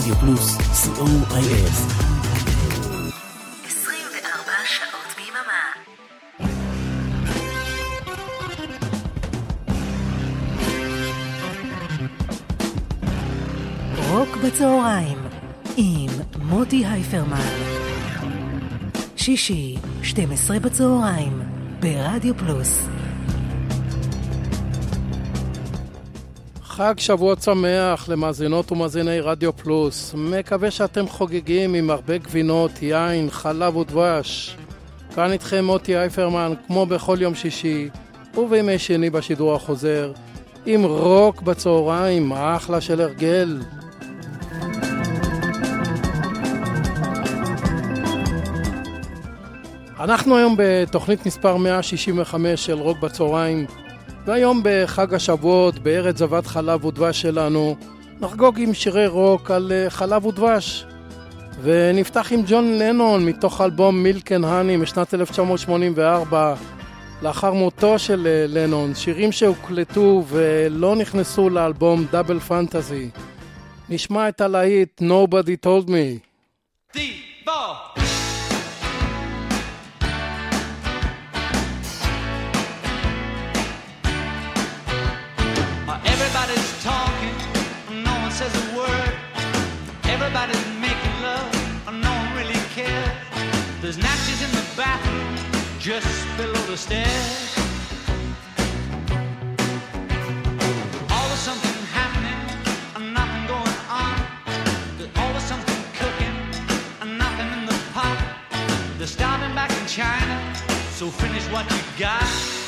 רדיו פלוס, co.il. 24 שעות ביממה. רוק בצהריים עם מוטי הייפרמן. שישי, 12 בצהריים, ברדיו פלוס. חג שבועות שמח למאזינות ומאזיני רדיו פלוס. מקווה שאתם חוגגים עם הרבה גבינות, יין, חלב ודבש. כאן איתכם מוטי הייפרמן, כמו בכל יום שישי ובימי שני בשידור החוזר, עם רוק בצהריים, אחלה של הרגל. אנחנו היום בתוכנית מספר 165 של רוק בצהריים, והיום בחג השבועות, בארץ זבת חלב ודבש שלנו, נחגוג עם שירי רוק על חלב ודבש. ונפתח עם ג'ון לנון מתוך אלבום מילק אנד הני משנת 1984, לאחר מותו של לנון, שירים שהוקלטו ולא נכנסו לאלבום דאבל פנטזי. נשמע את הלהיט Nobody Told Me. Everybody's talking, no one says a word. Everybody's making love, no one really cares. There's napkins in the bathroom, just below the stairs. Always something happening, nothing going on. There's always something cooking, nothing in the pot. They're starting back in China, so finish what you got.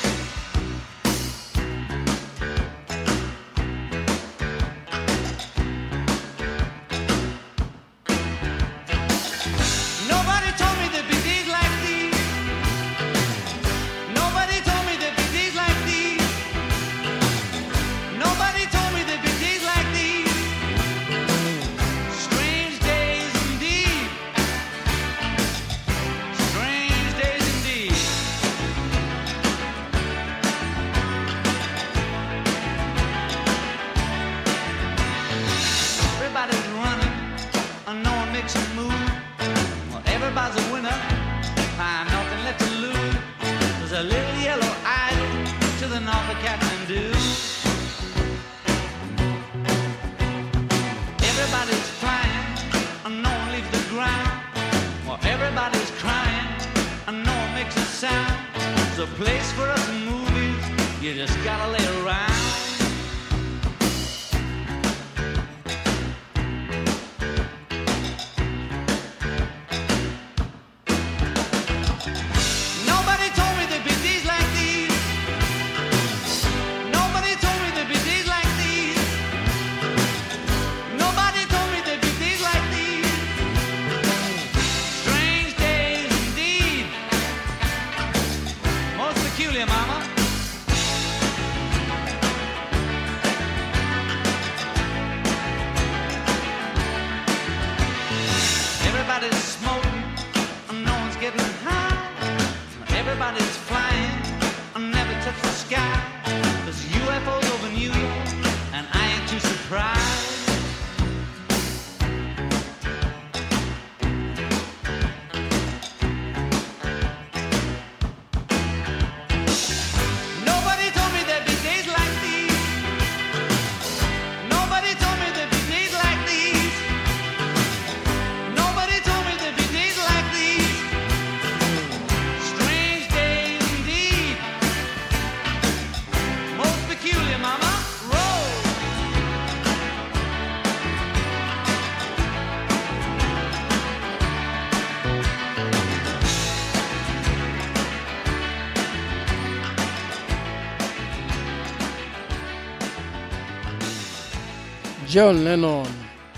ג'ון לנון.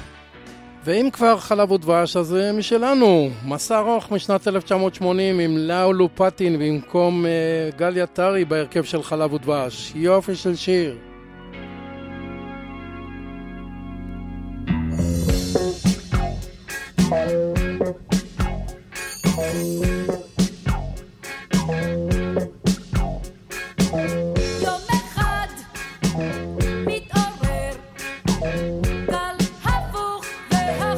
ואם כבר חלב ודבש, אז משלנו, מסע ארוך משנת 1980 עם לאו לופטין במקום גליה טרי בהרכב של חלב ודבש. יופי של שיר. יום אחד מתעורר גל הפוך והפוך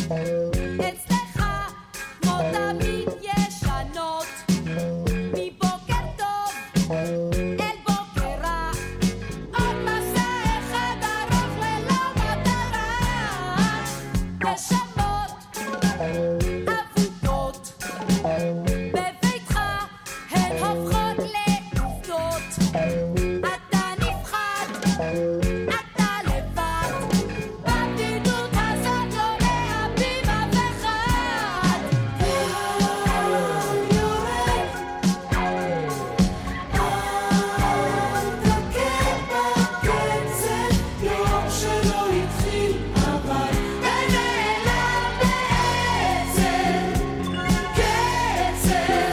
אצלך כמו תמיד ישנות מבוקר טוב אל בוקר רע עוד מסע אחד ארוך ללא מטרה נשמות אבודות בביתך הן הופכות לעובדות אתה נפחד אתה לבד בבדידות הזאת לא להביט אף אחד יורד יום שלא התחיל אבל ונעלם בעצם קצב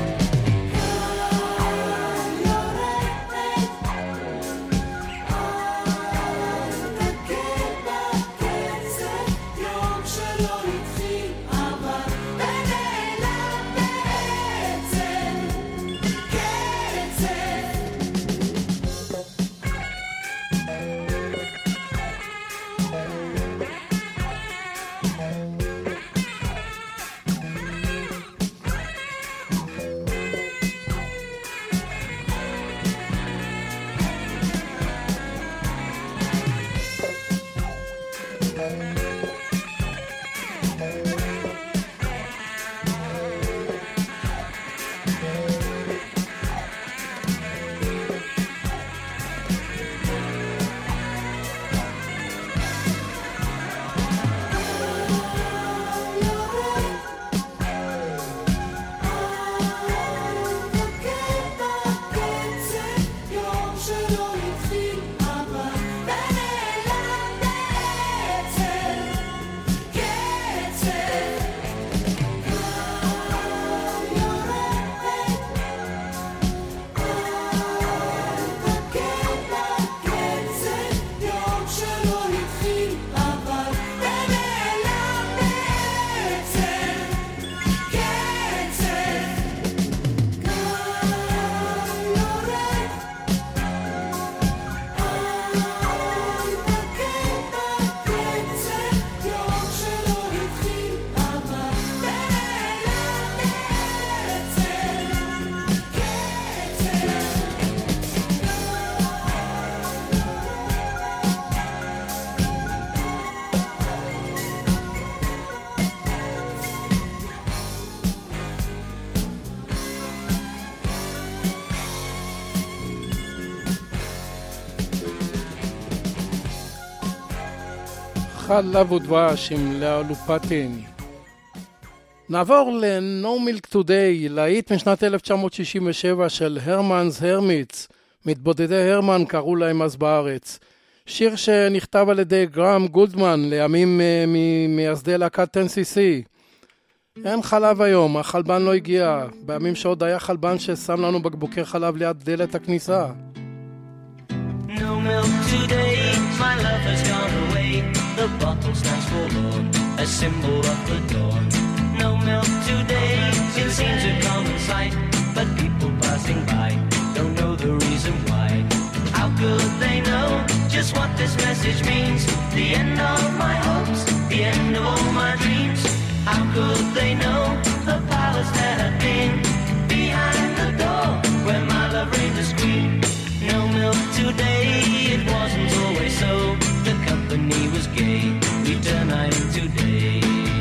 יום שלא התחיל אבל ונעלם בעצם קצב יום שלא התחיל אבל ונעלם בעצם קצב יום שלא התחיל אבל ונעלם בעצם יום שלא התחיל אבל ונעלם חלב ודבש עם לאה לופטין. נעבור ל-No Milk Today, להיט משנת 1967 של הרמנס הרמיטס. מתבודדי הרמן קראו להם אז בארץ. שיר שנכתב על ידי גרם גולדמן, לימים ממייסדי להקת 10cc. אין חלב היום, החלבן לא הגיע. בימים שעוד היה חלבן ששם לנו בקבוקי חלב ליד דלת הכניסה. No milk today, my love has gone away. The bottle stands forlorn, a symbol of the dawn. No milk today, it seems a common sight, but people passing by don't know the reason why. How could they know just what this message means? The end of my hopes, the end of all my dreams. How could they know the palace that had been behind the door where my love reigned as queen? No milk today, it wasn't always so. The company was gay, we turn night into day.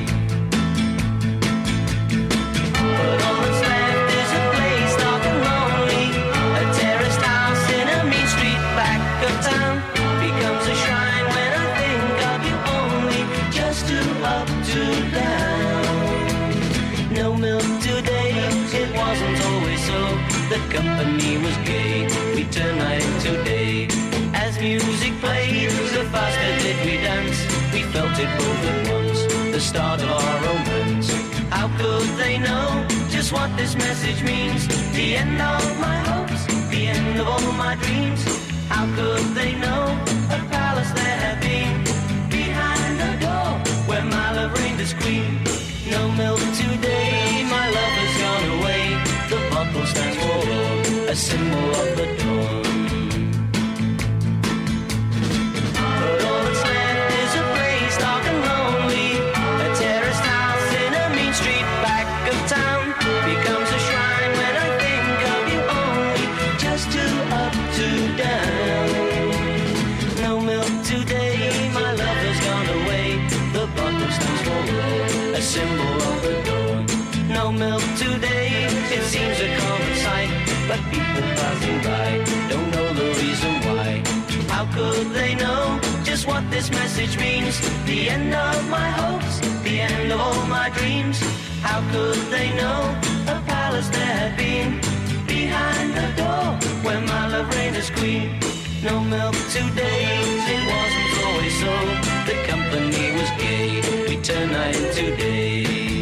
But all that's left is a place dark and lonely. A terraced house in a mean street back of town becomes a shrine when I think of you only. Just two up, two down. No milk today, it wasn't always so. The company was gay, we turn night into day. As music played, the faster did we dance. We felt it both at once, the start of our romance. How could they know just what this message means? The end of my hopes, the end of all my dreams. How could they know a palace there had been behind the door where my love reigned as queen? No milk today, my love has gone away. The bottle stands for a symbol of the dawn. But all that's left is a place dark and lonely, a bottom stands for Lord, a symbol of the dawn. No milk today, it seems a common sight, but people passing by don't know the reason why. How could they know just what this message means? The end of my hopes, the end of all my dreams. How could they know a palace there had been behind the door where my love reigned as queen? No milk today, it wasn't always so. The company was gay, we turned night into day.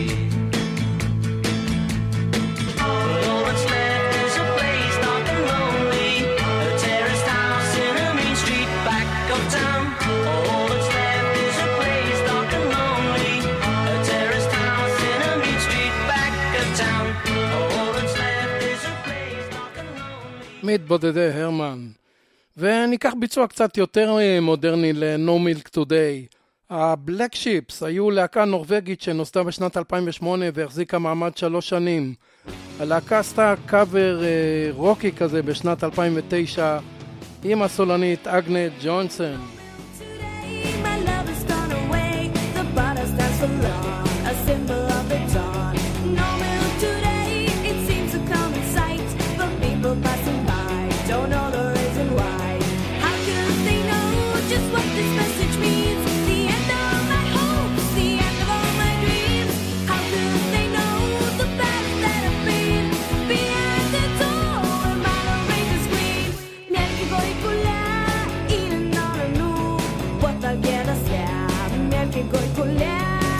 But all that's left is a place dark and lonely, a terraced house in a mean street back of town. All that's left is a place dark and lonely, a terraced house in a mean street back of town. All that's left is a place dark and lonely. מתבודדי הרמן. וניקח ביצוע קצת יותר מודרני ל-No Milk Today. ה-Black Ships היו להקה נורווגית שנוסדה בשנת 2008 והחזיקה מעמד 3 שנים. הלהקה עשתה קאבר רוקי כזה בשנת 2009 עם הסולנית אגנט ג'ונסון. Today my love has gone away. The bottle stands for love, a symbol of the dawn. No milk today, it seems a common sight, but people passing by don't know the reason why. How could they know just what this message means? The end of my hopes, the end of all my dreams. How could they know the path that I've been behind the door where my love reigns as queen? Miarki goi kula, ina nara nu, what I'll get us there. Miarki goi kula.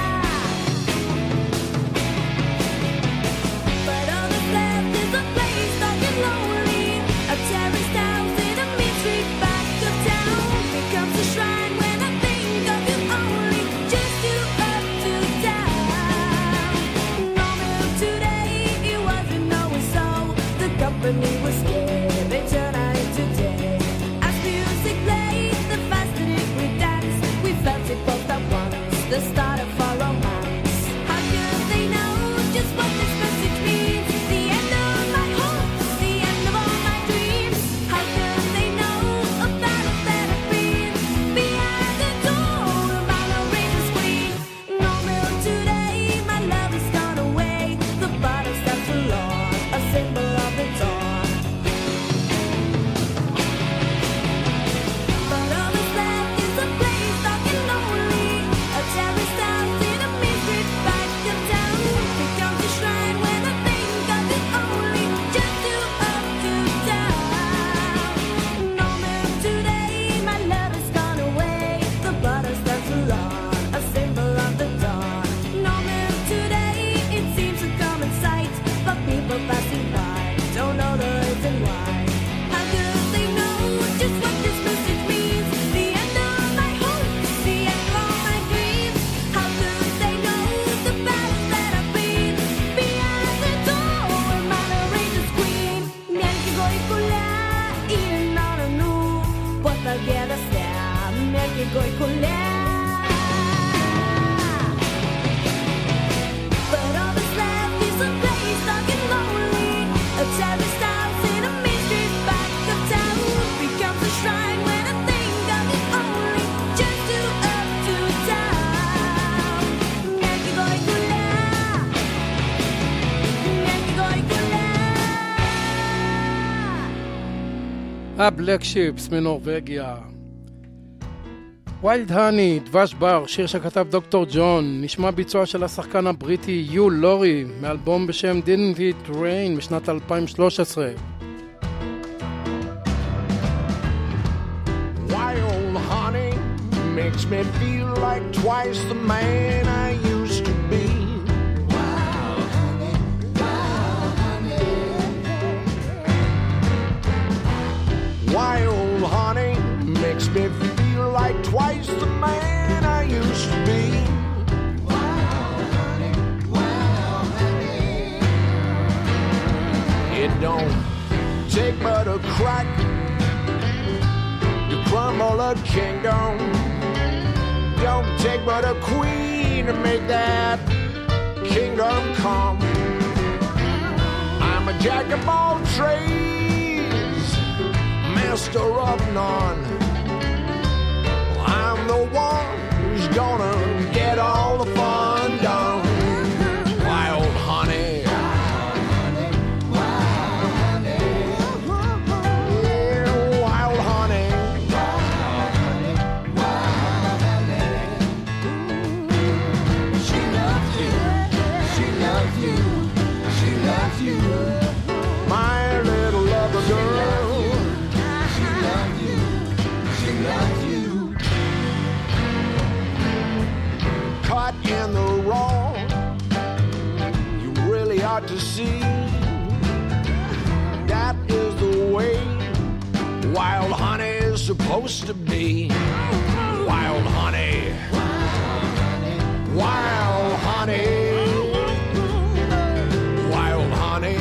But all that's left is a place dark and lonely, a terraced house in a mean street back of town. Becomes a shrine when I think of you only, just you up to down. No milk today, it wasn't always so. The company was scared, they turned out into day. As music played, the faster it we danced, we felt it both at once, the start of our romance. How could they know just what this message means? The end of my hopes, the end of all my dreams. How could they know a battle that I've been behind the door where my love reigns as queen? No milk today, my love has gone away. The bottle stands for Lord, a symbol of the dawn. But all that's left is a place dark and lonely, a terraced house in a mean street back of town. Becomes a shrine when I think of you only, just you up to down. No milk today, my love has gone away. The bottle stands for Lord, a symbol of the dawn. No milk today, it seems a common sight, but people passing by don't know the reason why. How could they know just what this message means? The end of my hopes, the end of all my dreams. How could they know the path that I've been behind the door where my love reigns as queen? Miarki goi kula, ina nara nu, what I'll get us there. Miarki goi kula. But all that's left is a place dark and lonely, a terraced house in a mean street back of town. Becomes a shrine when I think of you only, just you up to down. Miarki goi kula, miarki goi kula. ה-Black Ships מנורווגיה. ויילד הני, דבש בר, שיר שכתב דוקטור ג'ון, נשמע ביצוע של השחקן הבריטי יו לורי, מאלבום בשם Didn't It Rain משנת 2013. Wild honey makes me feel like twice the man I used to be. Wild honey, wild honey. Wild honey makes me feel like twice the man I used to be. Wild honey, wild honey. It don't take but a crack to crumble a kingdom. Don't take but a queen to make that kingdom come. I'm a jack of all trades, master of none. I'm the one who's gonna get right in the wrong. You really ought to see that is the way wild honey is supposed to be. Wild honey. Wild honey. Wild honey.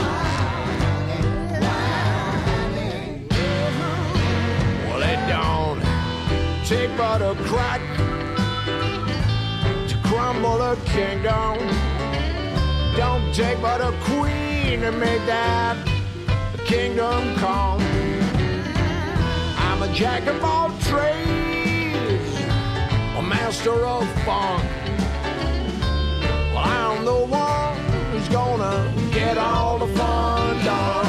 Well, it don't take but a crack to crumble a kingdom. Don't take but a queen to make that kingdom come. I'm a jack of all trades, a master of funk. Well, I'm the one who's gonna get all the fun done.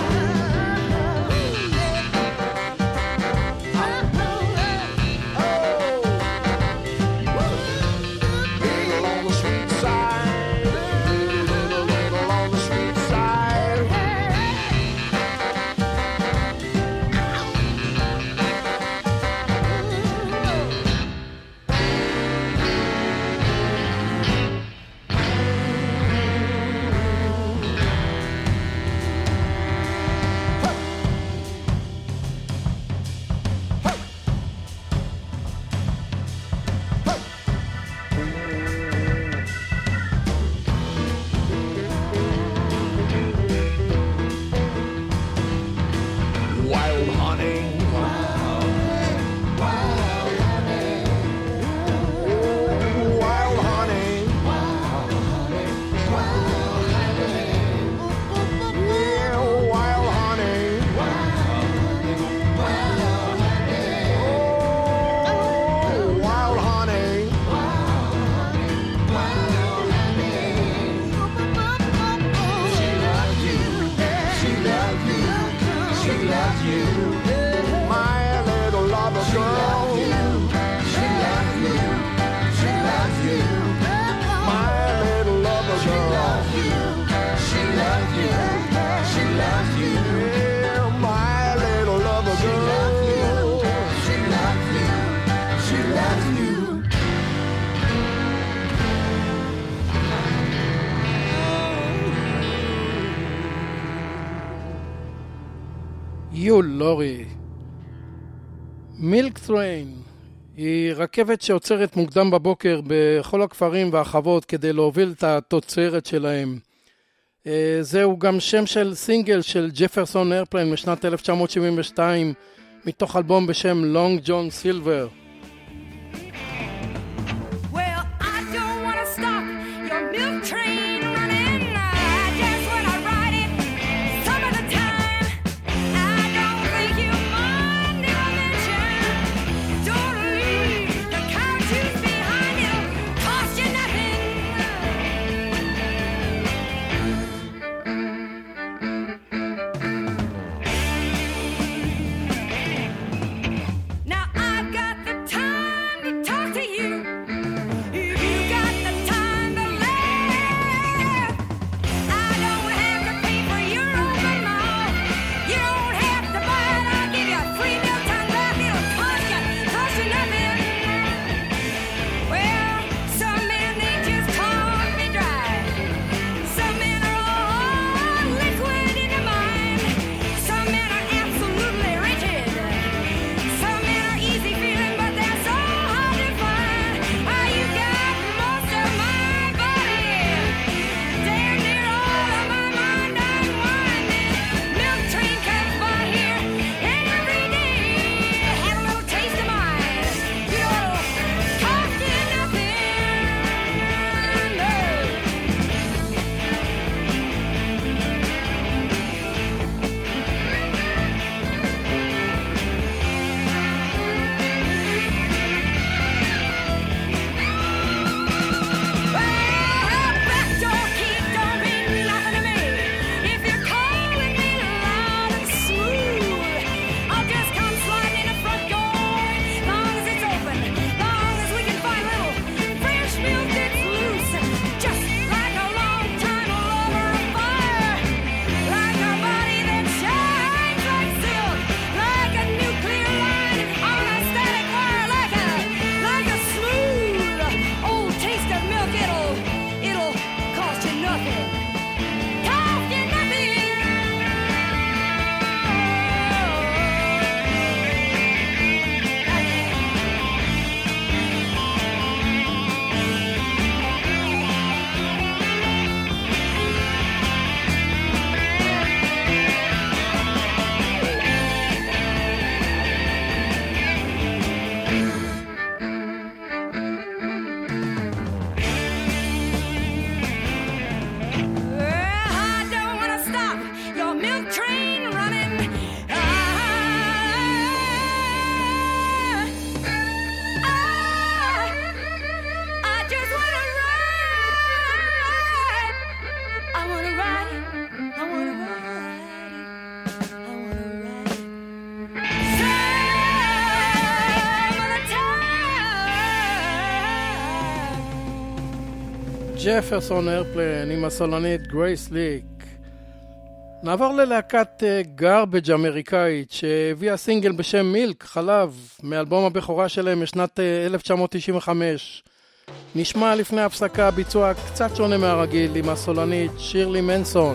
יו לורי. מילק טריין היא רכבת שעוצרת מוקדם בבוקר בכל הכפרים והחוות כדי להוביל את התוצרת שלהם. זהו גם שם של סינגל של ג'פרסון איירפליין משנת 1972 מתוך אלבום בשם לונג ג'ון סילבר. Well, I don't want to stop your milk train running. Just when I ride it, some of the time, I don't think you mind if I mention. Don't leave the couches behind, it'll cost you nothing. Now I've got the ג'פרסון איירפלן עם הסולנית גרייס ליק. נעבור ללהקת גארבג' אמריקאית שהביאה סינגל בשם מילק, חלב, מאלבום הבכורה שלהם משנת 1995. נשמע לפני הפסקה ביצוע קצת שונה מהרגיל עם הסולנית שירלי מנסון.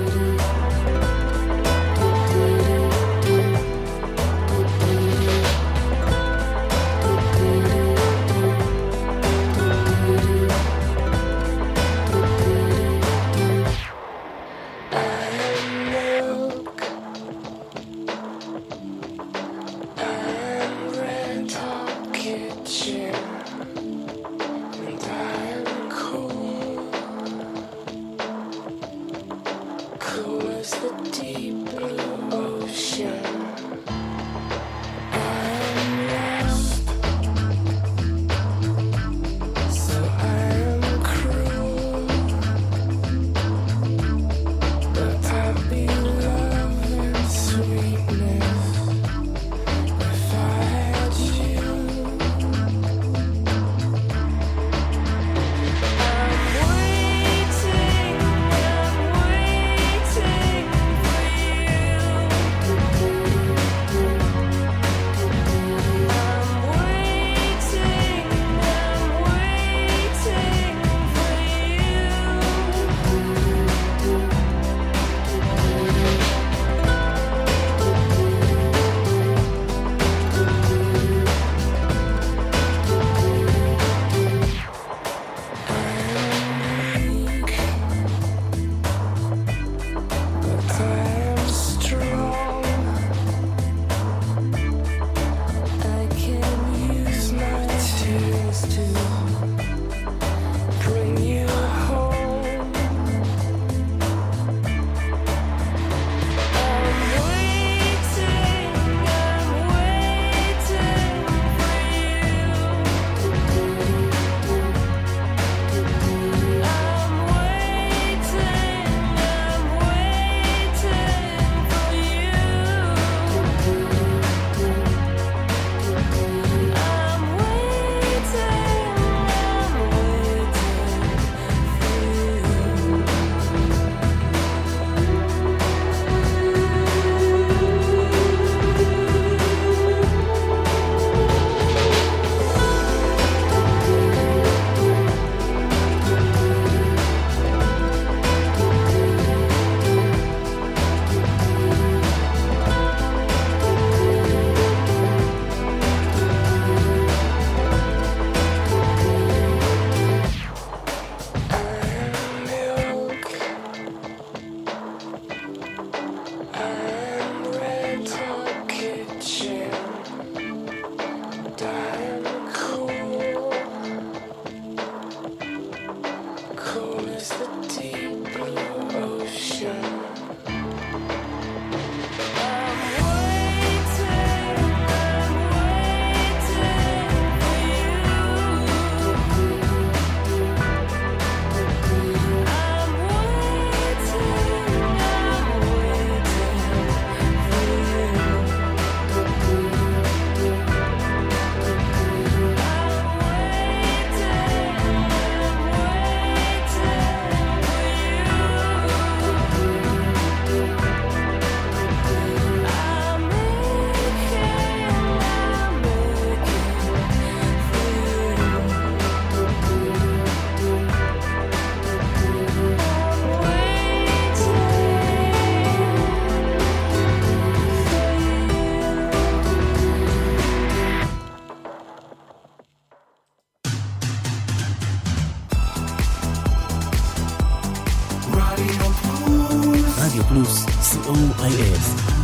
רדיו פלוס, COIF.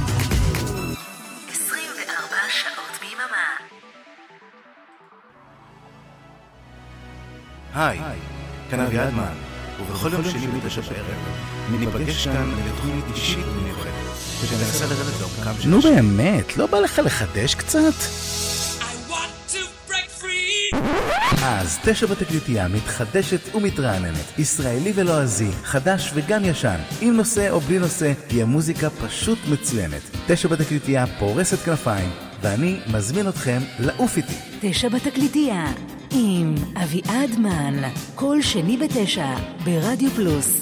24 שעות ביממה. היי, כאן אביעדמן, ובכל יום שני ב9 בערב ניפגש כאן לתוכנית אישית ומיוחדת שתנסה לרדת לעומקם של... נו באמת, לא בא לך לחדש קצת? אז 9 בתקליטייה מתחדשת ומתרעננת, ישראלי ולועזי, חדש וגם ישן, עם נושא או בלי נושא, היא המוזיקה פשוט מצוינת. 9 בתקליטייה פורסת כנפיים, ואני מזמין אתכם לעוף איתי. 9 בתקליטייה, עם אביעד מן, כל שני 9 ברדיו פלוס.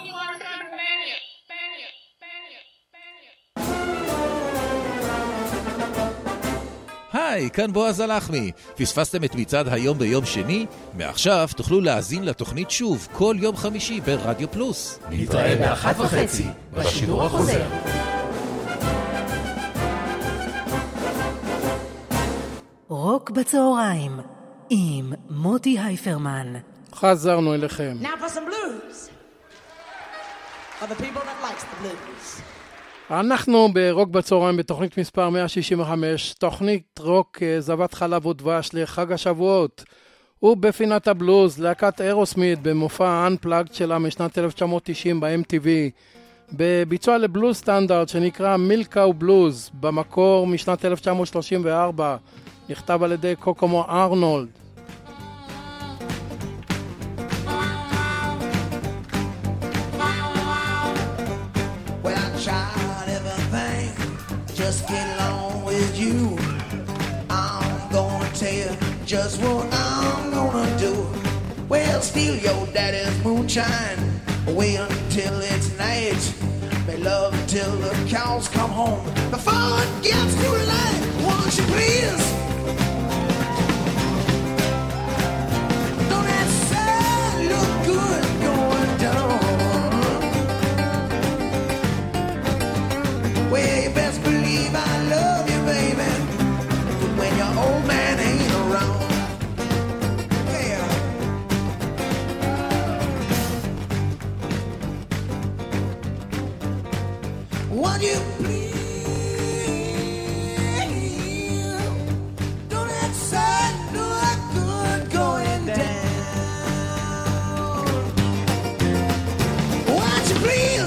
היי, כאן בועז הלחמי. פספסתם את מצעד היום ביום שני? מעכשיו תוכלו להאזין לתוכנית שוב כל יום חמישי ברדיו פלוס. נתראה ב-1:30 בשידור החוזר. רוק בצהריים עם מוטי הייפרמן. חזרנו אליכם. Now for some blues. For the people that likes the blues. אנחנו ברוק בצהריים בתוכנית מספר 165, תוכנית רוק זבת חלב ודבש לחג השבועות. ובפינת הבלוז, להקת אירוסמית במופע Unplugged שלה משנת 1990 ב-MTV, בביצוע לבלוז סטנדרט שנקרא מילקאו בלוז, במקור משנת 1934, נכתב על ידי קוקומו ארנולד. Just get along with you. I'm gonna tell you just what I'm gonna do. Well, steal your daddy's moonshine. Wait until it's night. Make love till the cows come home. Before it gets too late, won't you please? Don't that sun look good going down? Well, you best believe I love you, baby, when your old man ain't around. Yeah. Would you please? Don't that sun look good going down? Would you please?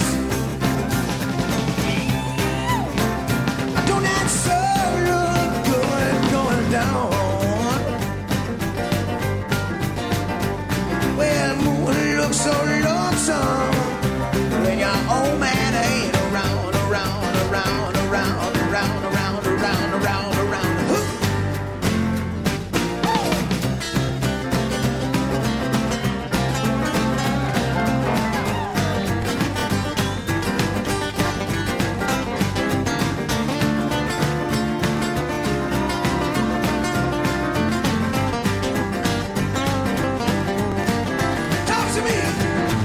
So lonesome when your old man ain't around, around, around, around, around, around, around, around, around. Talk to me.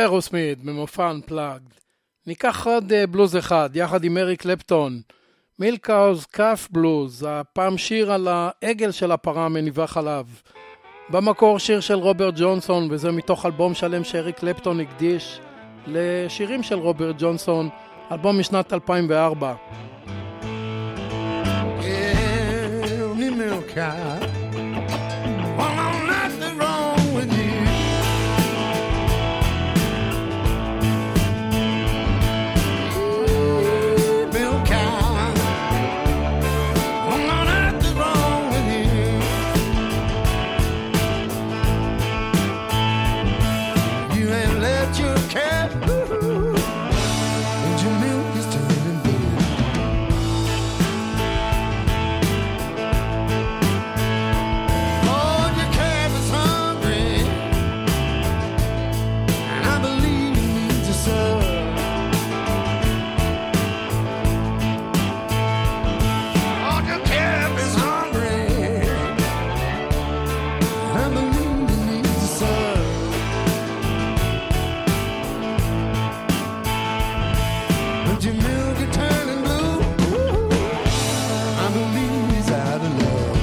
אירוסמית במופע Unplugged. ניקח עוד בלוז אחד, יחד עם אריק קלפטון. מילקאוז קאף בלוז, הפעם שיר על העגל של הפרה מניבה חלב. במקור שיר של רוברט ג'ונסון, וזה מתוך אלבום שלם שאריק קלפטון הקדיש לשירים של רוברט ג'ונסון, אלבום משנת 2004. Give me milk cow. Well, I'm nothing wrong with you. Milk cow. Well, I'm nothing wrong with you. You ain't let your cat. And your milk is turning blue. Lord, your calf is hungry, and I believe it needs a serve. Lord, your calf is hungry, and I believe it needs a serve. But your milk is turning blue. I believe he's out of love.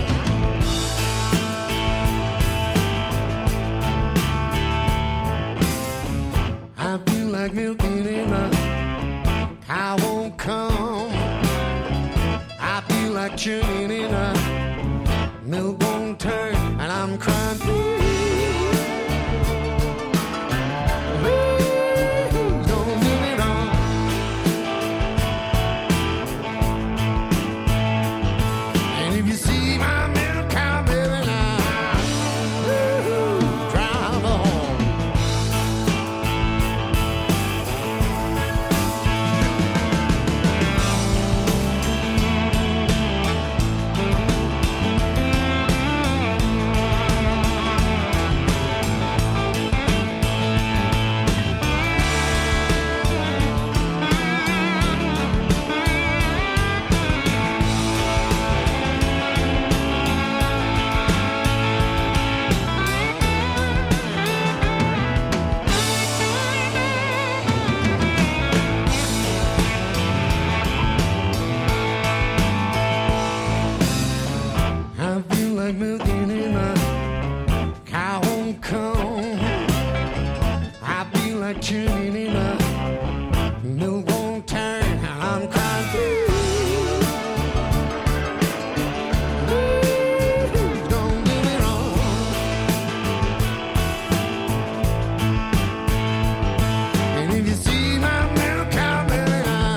I feel like milking in a cow won't come. I feel like churning in a milk won't turn, and I'm crying. Please don't do it on. And if you see my milk cow, baby, now drive on. I feel like milking in a cow won't come. I feel like churning in a milk won't turn, and I'm crying. Please don't do me wrong. And if you see my milk cow, baby,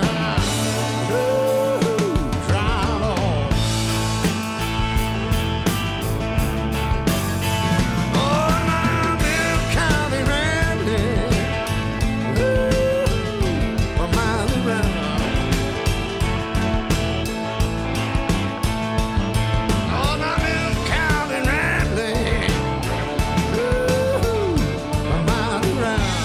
drive on. Oh, my milk cow be rambling, for miles around. Oh, my milk cow be rambling, for miles around.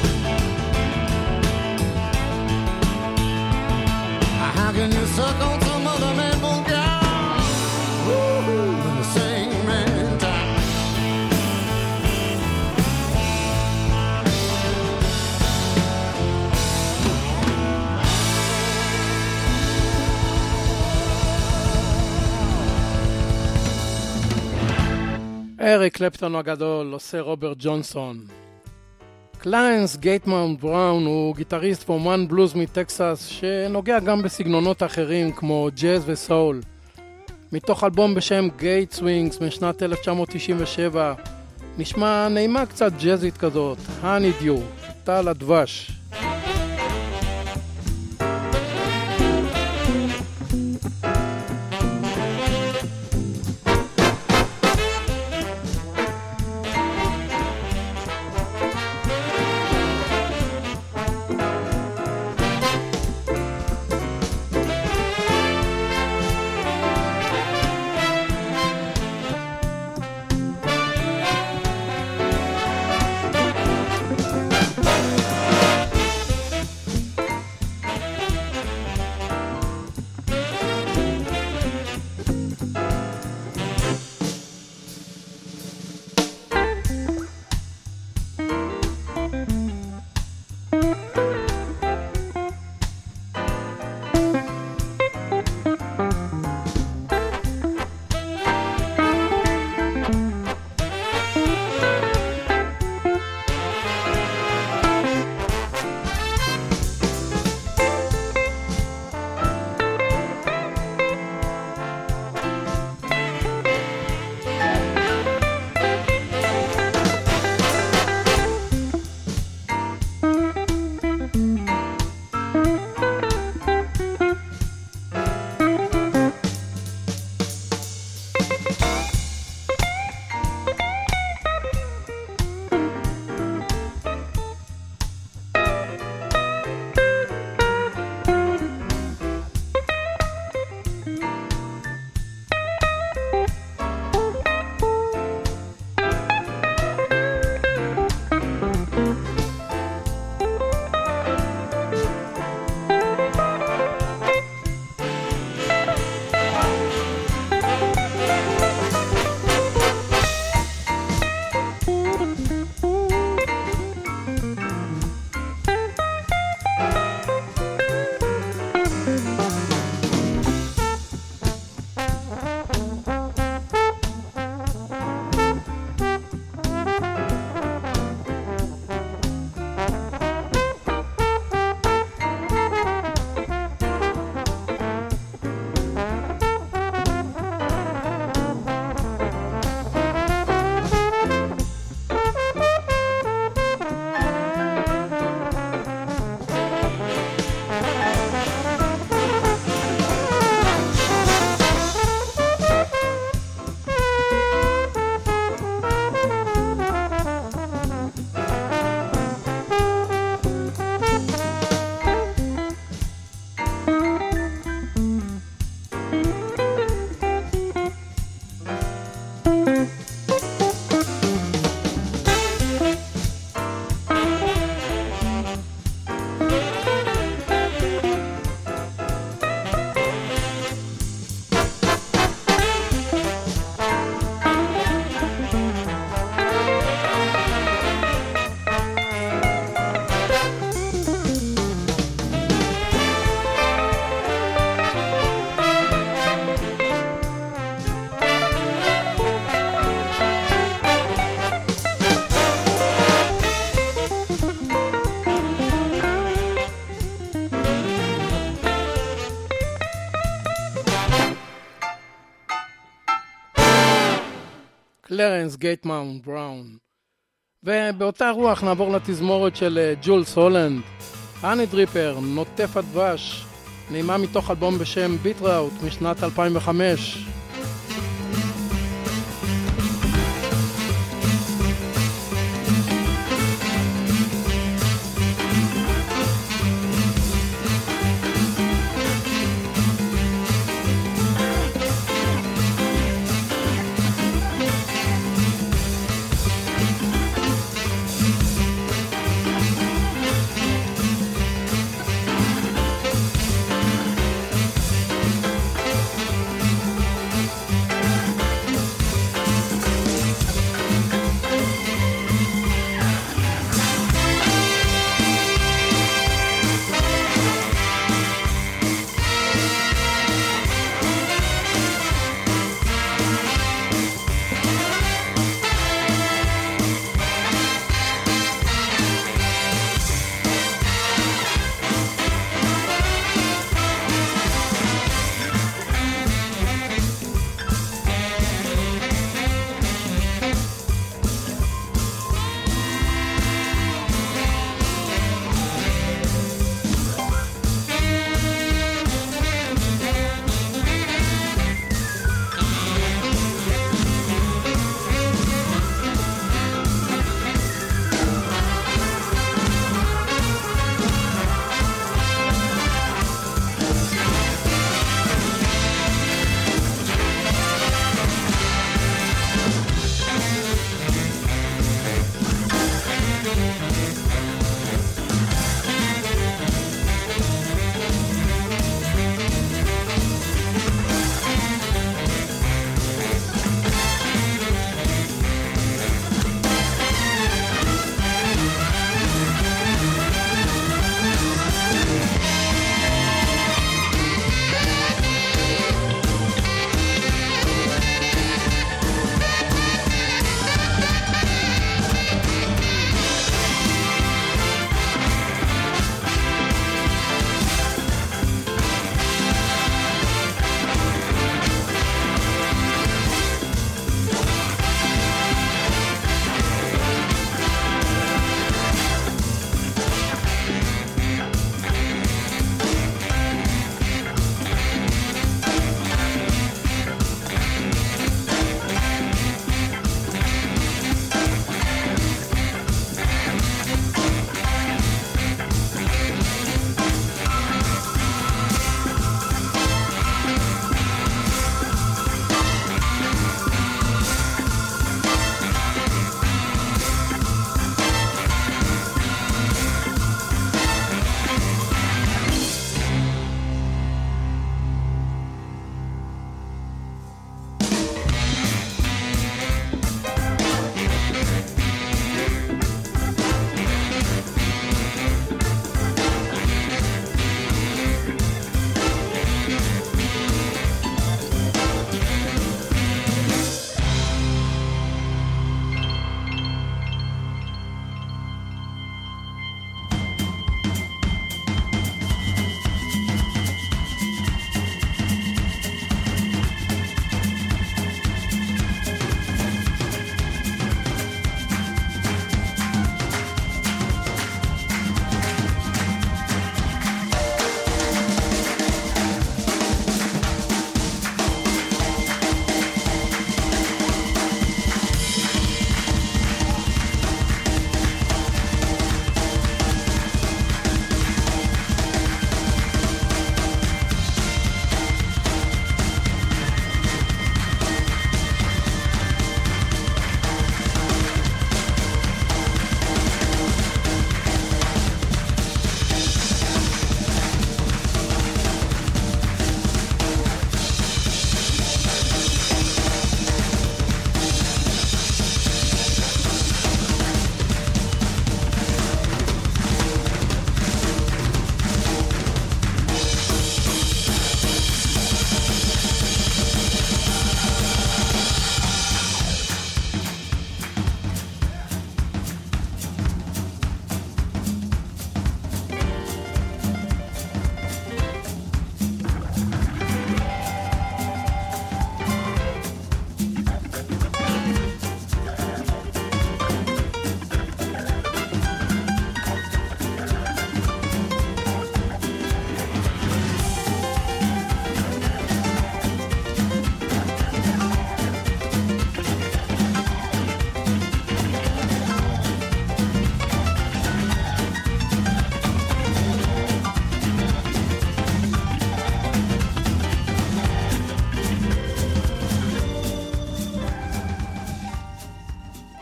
How can you suck on some other man's milk cow? When the same man died. אריק קלפטון הגדול עושה רוברט ג'ונסון. קליינס גייטמאונט בראון הוא גיטריסט ואומן בלוז מטקסס שנוגע גם בסגנונות אחרים כמו ג'אז וסול. מתוך אלבום בשם גייט סווינגס משנת 1997 נשמע נעימה קצת ג'אזית כזאת, Honey Dew, טל הדבש. קלרנס גייטמן בראון. ובאותה רוח נעבור לתזמורת של ג'ולס הולנד, אני דריפר, נוטף הדבש, נעימה מתוך אלבום בשם ביט ראוט משנת 2005.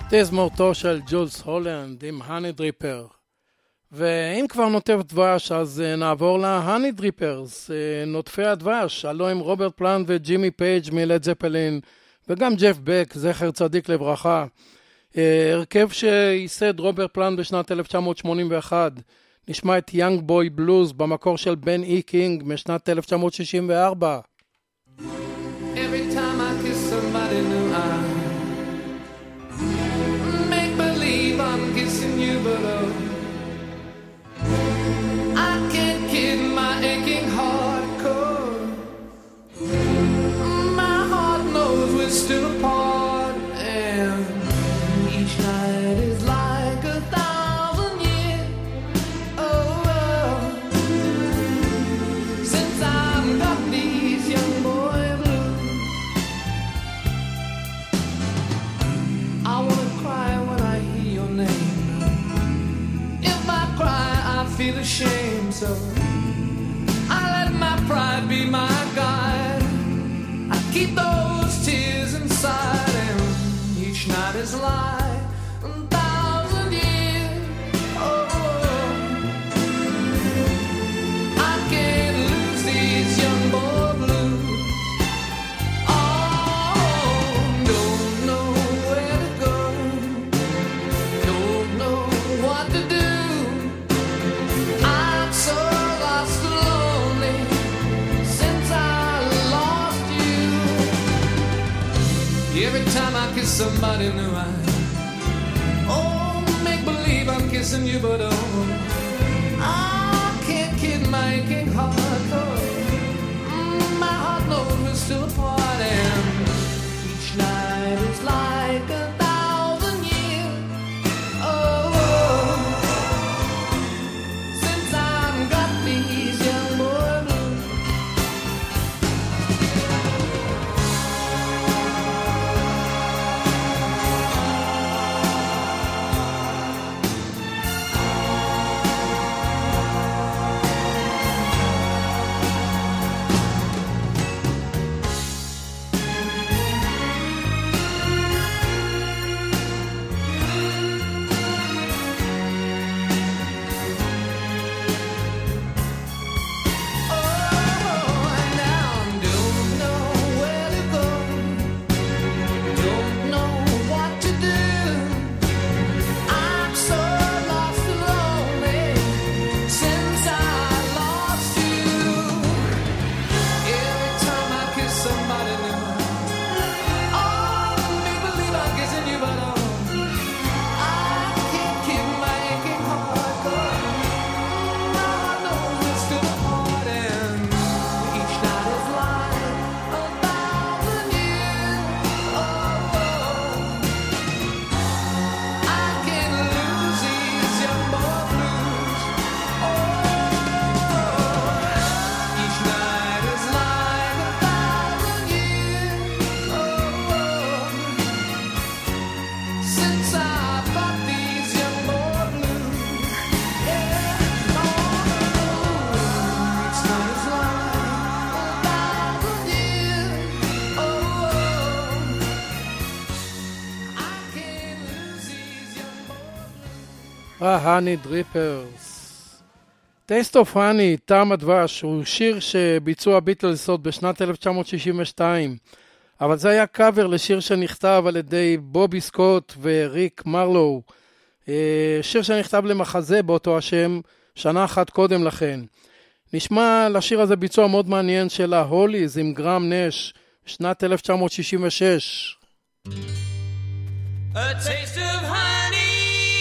תזמורתו של ג'ולס הולנד עם הני דריפר. ואם כבר נוטף דבש, אז נעבור להני דריפרס, נוטפי הדבש, הלוא עם רוברט פלנט וג'ימי פייג' מלד זפלין, וגם ג'ף בק, זכר צדיק לברכה. הרכב שייסד רוברט פלנט בשנת 1981, נשמע את יאנג בוי בלוז במקור של בן אי קינג משנת 1964. Every time I kiss somebody new, I make believe I'm kissing you, but I can't kid my aching heart, 'cause my heart knows we're still apart, and each night is like 1,000 years. Oh, since I've got these young boy blues, I wanna cry when I hear your name. If I cry, I feel ashamed, so I let my pride be my guide. I keep those tears inside, and each night is like 1,000 years. Oh, I can't lose these young boy blues. Oh, don't know where to go, don't know what to do. I'm so lost and lonely since I lost you. Every time I kiss somebody new, make believe I'm kissing you, but I can't kid my aching heart, 'cause my heart knows we're still apart, and each night is like 1,000 years. Oh, since I've got these young boy blues. ההני דריפרס. Taste of Honey, טעם הדבש, הוא שיר שביצעו הביטלס עוד בשנת 1962, אבל זה היה קאבר לשיר שנכתב על ידי בובי סקוט וריק מרלו, שיר שנכתב למחזה באותו השם שנה אחת קודם לכן. נשמע לשיר הזה ביצוע מאוד מעניין של ההוליז עם גרם נש, שנת 1966. A taste of honey,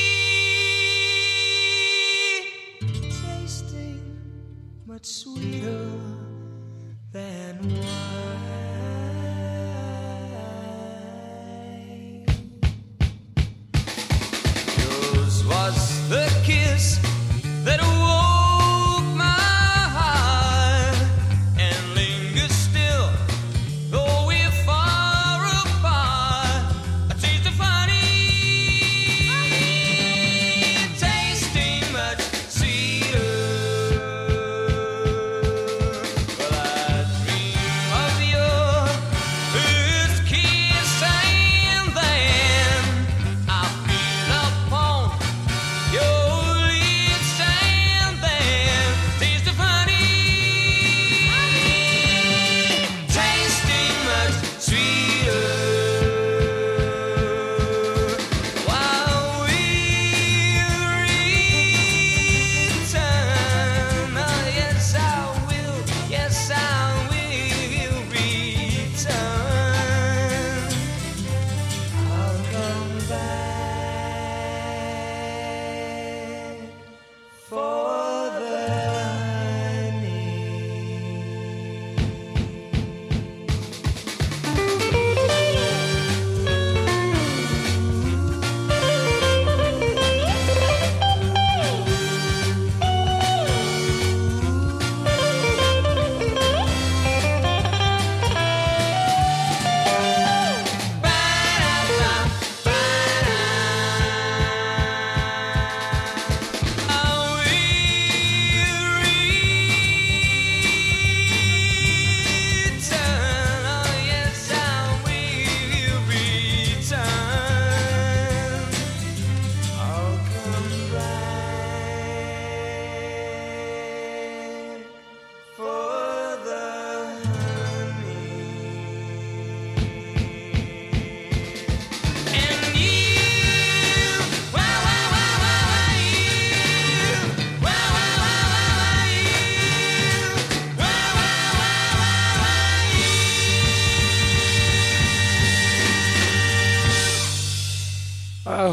tasting much sweeter than wine. Yours was the kiss that awoke my heart and lingers still, though we're far apart. A taste of honey, tasting much sweeter. Well, I dream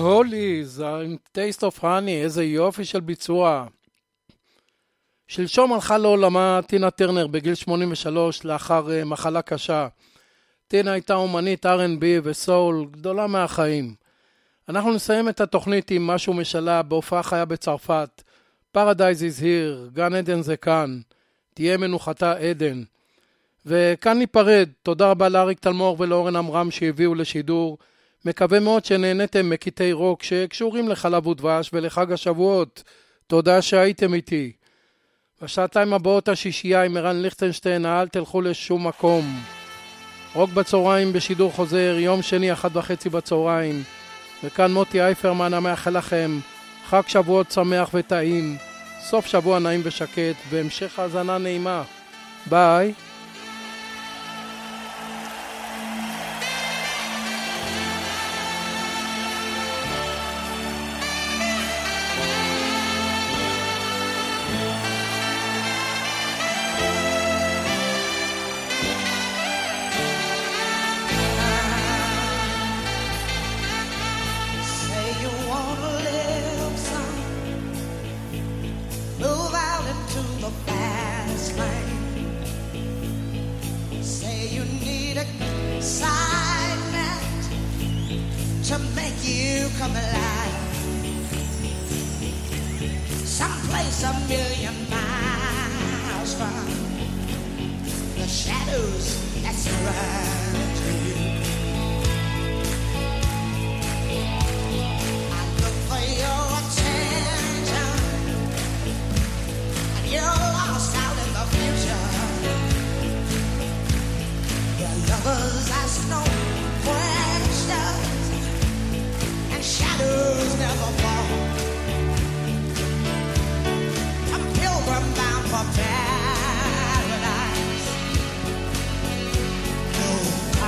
הוליז, Taste of Honey, איזה יופי של ביצוע. שלשום הלכה לעולמה טינה טרנר בגיל 83 לאחר מחלה קשה. טינה הייתה אומנית R&B וסול גדולה מהחיים. אנחנו נסיים את התוכנית עם משהו משלה בהופעה חיה בצרפת. Paradise is here, גן עדן זה כאן, תהיה מנוחתה עדן. וכאן ניפרד, תודה רבה לאריק תלמור ולאורן אמרם שהביאו לשידור. מקווה מאוד שנהנתם מקטעי רוק שקשורים לחלב ודבש ולחג השבועות. תודה שהייתם איתי. בשעתיים הבאות השישייה עם ערן ליכטנשטיין, אל תלכו לשום מקום. רוק בצהריים בשידור חוזר, יום שני 1:30 בצהריים. וכאן מוטי אייפרמן המאחל לכם חג שבועות שמח וטעים, סוף שבוע נעים ושקט, והמשך האזנה נעימה. ביי. To make you come alive, someplace a million miles from the shadows that surround you. I look for your attention, and you're lost out in the future. Your lovers ask no questions, shadows never fall. I'm pilgrim bound for paradise. No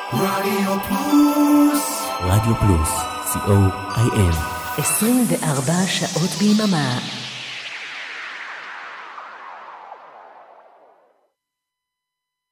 רדיו פלוס. רדיו פלוס, co.il 24 שעות ביממה.